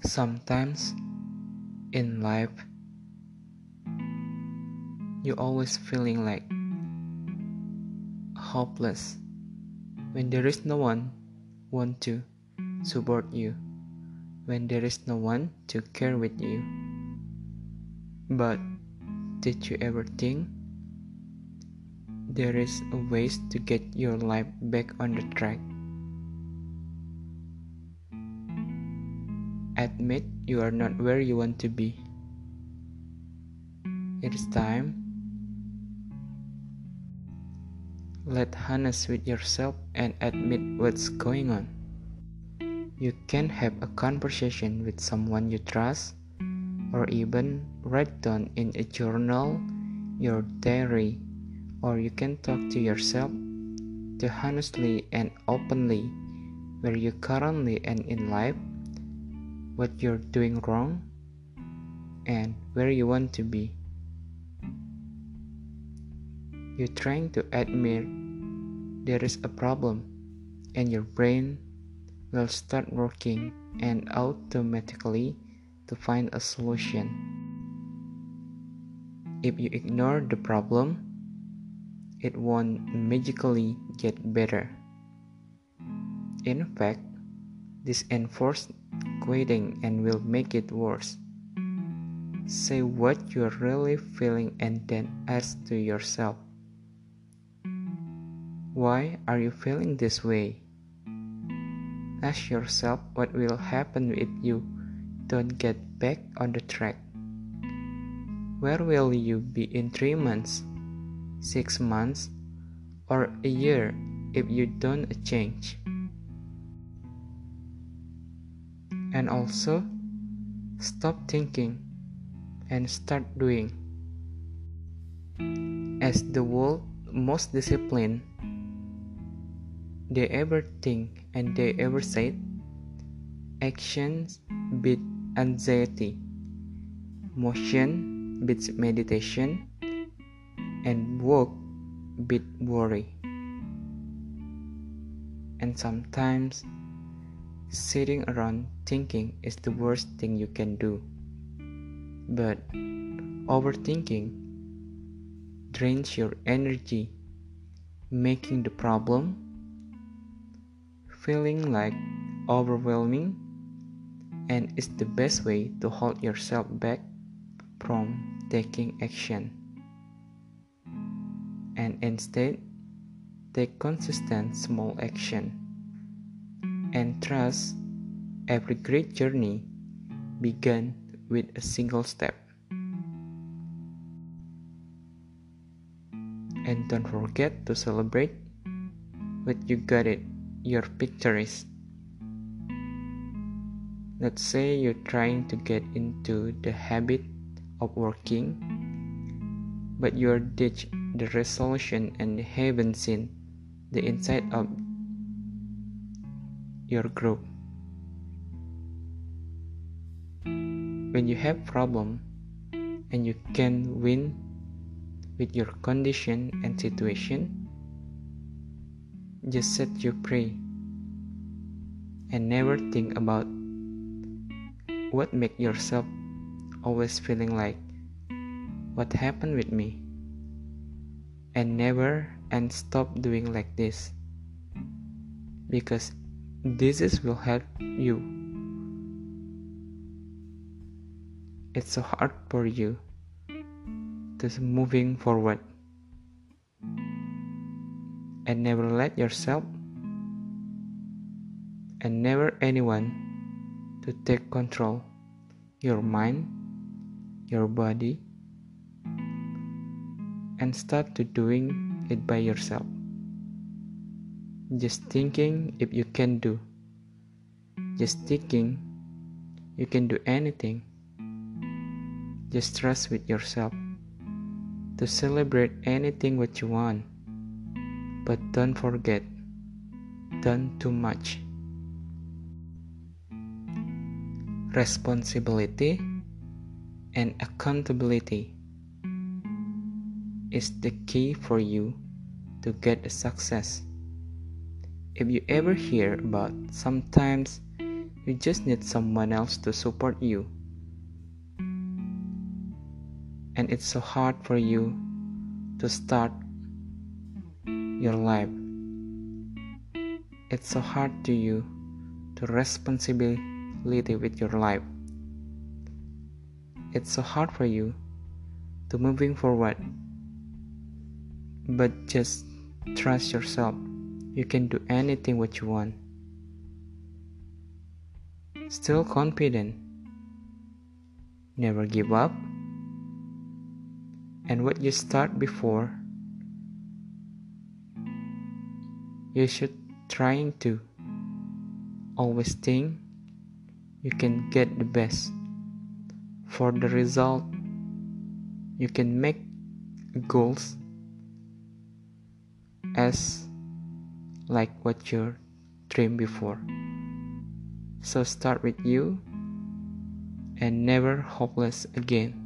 Sometimes in life, you always feeling like hopeless when there is no one want to support you, when there is no one to care with you. But did you ever think there is a ways to get your life back on the track? Admit you are not where you want to be. It is time. Let honest with yourself and admit what's going on. You can have a conversation with someone you trust, or even write down in a journal your diary, or you can talk to yourself to honestly and openly where you currently and in life, what you're doing wrong, and where you want to be. You're trying to admit there is a problem, and your brain will start working and automatically to find a solution. If you ignore the problem, it won't magically get better. In fact, this enforced quitting and will make it worse. Say what you're really feeling and then ask to yourself, why are you feeling this way? Ask yourself what will happen if you don't get back on the track. Where will you be in 3 months, 6 months, or a year if you don't change? And also, stop thinking and start doing. As the world's most disciplined they ever think and they ever said, actions beat anxiety, motion beats meditation, and work beat worry. And sometimes sitting around thinking is the worst thing you can do. But overthinking drains your energy, making the problem feeling like overwhelming, and is the best way to hold yourself back from taking action. And instead, take consistent small action and trust every great journey began with a single step. And don't forget to celebrate when you got it, your victories. Let's say you're trying to get into the habit of working, but you're ditched the resolution and haven't seen the inside of your group. When you have problem and you can win with your condition and situation, just set you free and never think about what make yourself always feeling like what happened with me, and never and stop doing like this, because this will help you. It's so hard for you to moving forward, and never let yourself and never anyone to take control your mind, your body, and start to doing it by yourself. Just thinking if you can do, just thinking you can do anything. Just trust with yourself to celebrate anything what you want, but don't forget, don't too much. Responsibility and accountability is the key for you to get a success. If you ever hear about sometimes You just need someone else to support you. And it's so hard for you to start your life. It's so hard to you to responsibility with your life. It's so hard for you to moving forward. But just trust yourself. You can do anything what you want. Still confident. Never give up. And what you start before, you should trying to always think you can get the best. For the result, you can make goals as like what you dreamed before. So start with you and never hopeless again.